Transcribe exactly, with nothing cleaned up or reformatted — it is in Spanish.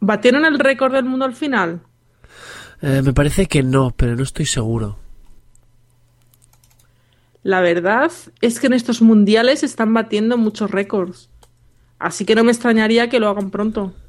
¿Batieron el récord del mundo al final? Eh, me parece que no, pero no estoy seguro. La verdad es que en estos mundiales están batiendo muchos récords. Así que no me extrañaría que lo hagan pronto.